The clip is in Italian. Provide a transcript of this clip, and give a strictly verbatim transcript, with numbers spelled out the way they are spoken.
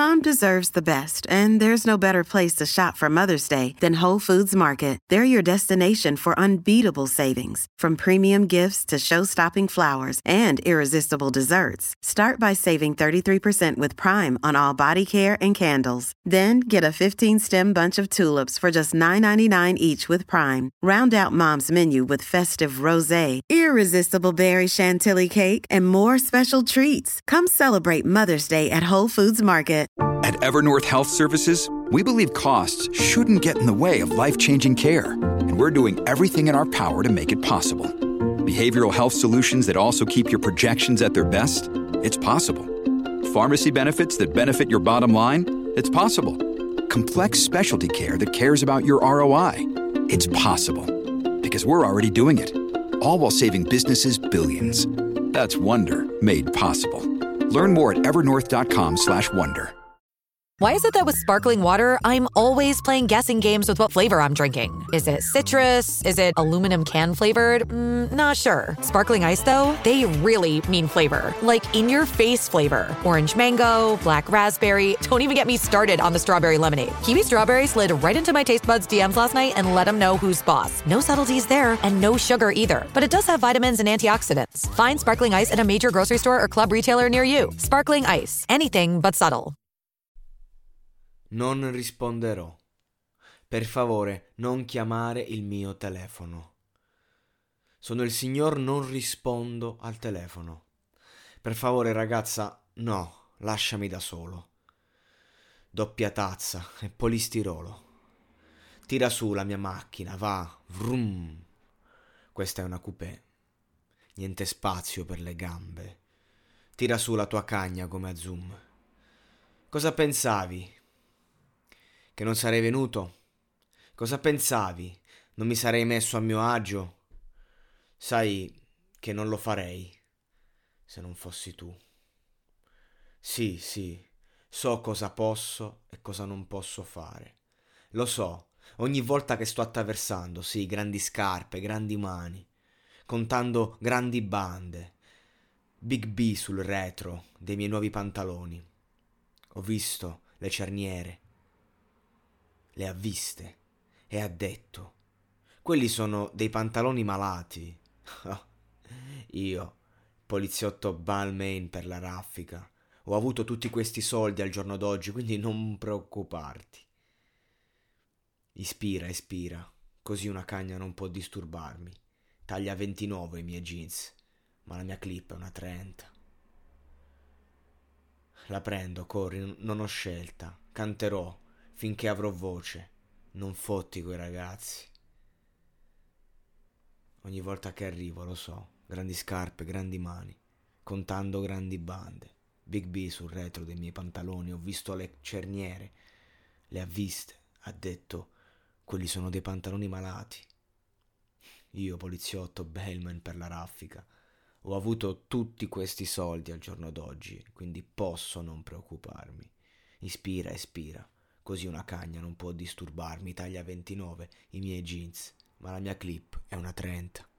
Mom deserves the best, and there's no better place to shop for Mother's Day than Whole Foods Market. They're your destination for unbeatable savings, from premium gifts to show-stopping flowers and irresistible desserts. Start by saving thirty-three percent with Prime on all body care and candles. Then get a fifteen-stem bunch of tulips for just nine ninety-nine each with Prime. Round out Mom's menu with festive rosé, irresistible berry chantilly cake, and more special treats. Come celebrate Mother's Day at Whole Foods Market. At Evernorth Health Services, we believe costs shouldn't get in the way of life-changing care, and we're doing everything in our power to make it possible. Behavioral health solutions that also keep your projections at their best? It's possible. Pharmacy benefits that benefit your bottom line? It's possible. Complex specialty care that cares about your R O I? It's possible. Because we're already doing it. All while saving businesses billions. That's Wonder made possible. Learn more at evernorth.com slash wonder. Why is it that with sparkling water, I'm always playing guessing games with what flavor I'm drinking? Is it citrus? Is it aluminum can flavored? Mm, not sure. Sparkling Ice, though, they really mean flavor. Like in-your-face flavor. Orange mango, black raspberry. Don't even get me started on the strawberry lemonade. Kiwi Strawberry slid right into my taste buds D Ms last night and let them know who's boss. No subtleties there, and no sugar either. But it does have vitamins and antioxidants. Find Sparkling Ice at a major grocery store or club retailer near you. Sparkling Ice. Anything but subtle. Non risponderò. Per favore, non chiamare il mio telefono. Sono il signor non rispondo al telefono. Per favore, ragazza, no, lasciami da solo. Doppia tazza e polistirolo. Tira su la mia macchina, va, vrum. Questa è una coupé. Niente spazio per le gambe. Tira su la tua cagna come a Zoom. Cosa pensavi? Che non sarei venuto? Cosa pensavi? Non mi sarei messo a mio agio? Sai che non lo farei se non fossi tu. Sì, sì, so cosa posso e cosa non posso fare. Lo so, ogni volta che sto attraversando, sì, grandi scarpe, grandi mani, contando grandi bande, Big B sul retro dei miei nuovi pantaloni. Ho visto le cerniere. Le ha viste e ha detto: quelli sono dei pantaloni malati. Io, poliziotto Balmain per la raffica, ho avuto tutti questi soldi al giorno d'oggi, quindi non preoccuparti. Ispira, ispira, così una cagna non può disturbarmi. Taglia ventinove i miei jeans, ma la mia clip è una trenta. La prendo, corri, non ho scelta, canterò finché avrò voce, non fotti quei ragazzi. Ogni volta che arrivo, lo so, grandi scarpe, grandi mani, contando grandi bande. Big B sul retro dei miei pantaloni, ho visto le cerniere, le ha viste, ha detto, quelli sono dei pantaloni malati. Io, poliziotto Bellman per la raffica, ho avuto tutti questi soldi al giorno d'oggi, quindi posso non preoccuparmi. Ispira, ispira. Così una cagna non può disturbarmi, taglia ventinove i miei jeans, ma la mia clip è una trenta.